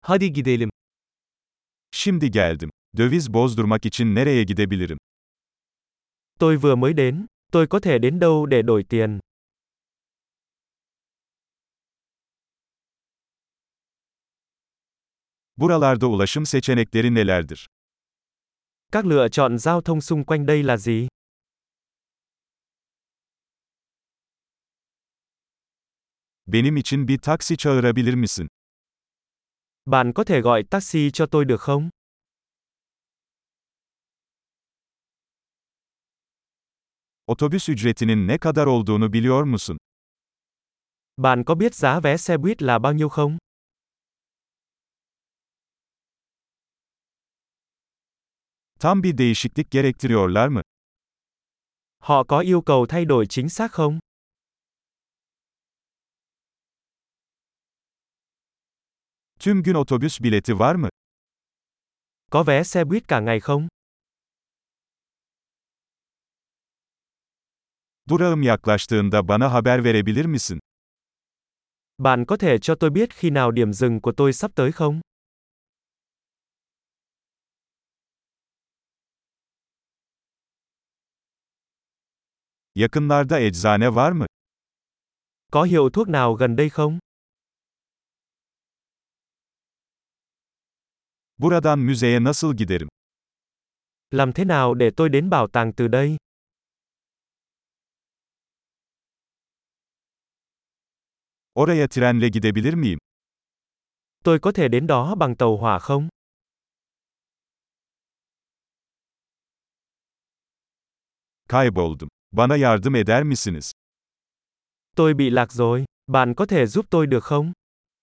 Hadi gidelim. Şimdi geldim. Döviz bozdurmak için nereye gidebilirim? Tôi vừa mới đến. Tôi có thể đến đâu để đổi tiền? Buralarda ulaşım seçenekleri nelerdir? Các lựa chọn giao thông xung quanh đây là gì? Benim için bir taksi çağırabilir misin? Bạn có thể gọi taxi cho tôi được không? Otobüs ücretinin ne kadar olduğunu biliyor musun? Bạn có biết giá vé xe buýt là bao nhiêu không? Tam bir değişiklik gerektiriyorlar mı? Họ có yêu cầu thay đổi chính xác không? Tüm gün otobüs bileti var mı? Có vé xe buýt cả ngày không? Durağım yaklaştığında bana haber verebilir misin? Bạn có thể cho tôi biết khi nào điểm dừng của tôi sắp tới không? Yakınlarda eczane var mı? Có hiệu thuốc nào gần đây không? Buradan müzeye nasıl giderim? Làm thế nào để tôi đến bảo tàng từ đây? Oraya trenle gidebilir miyim? Tôi có thể đến đó bằng tàu hỏa không? Kayboldum. Bana yardım eder misiniz? Tôi bị lạc rồi. Bạn có thể giúp tôi được không?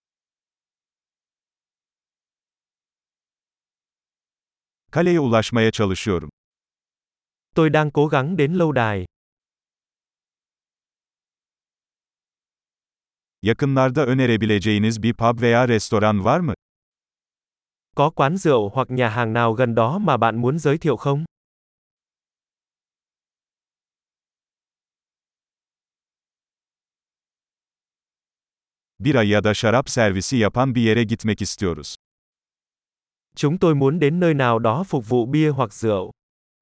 Kaleye ulaşmaya çalışıyorum. Tôi đang cố gắng đến lâu đài. Yakınlarda önerebileceğiniz bir pub veya restoran var mı? Có quán rượu hoặc nhà hàng nào gần đó mà bạn muốn giới thiệu không? Bira ya da şarap servisi yapan bir yere gitmek istiyoruz. Chúng tôi muốn đến nơi nào đó phục vụ bia hoặc rượu.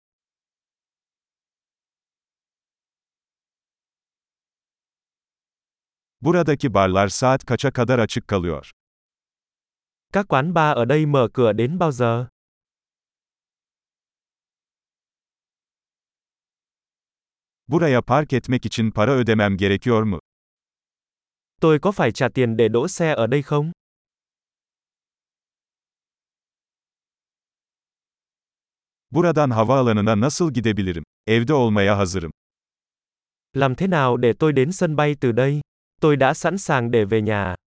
Buradaki barlar saat kaça kadar açık kalıyor? Các quán bar ở đây mở cửa đến bao giờ? Buraya park etmek için para ödemem gerekiyor mu? Tôi có phải trả tiền để đỗ xe ở đây không? Buradan havaalanına nasıl gidebilirim? Evde olmaya hazırım. Làm thế nào để tôi đến sân bay từ đây? Tôi đã sẵn sàng để về nhà.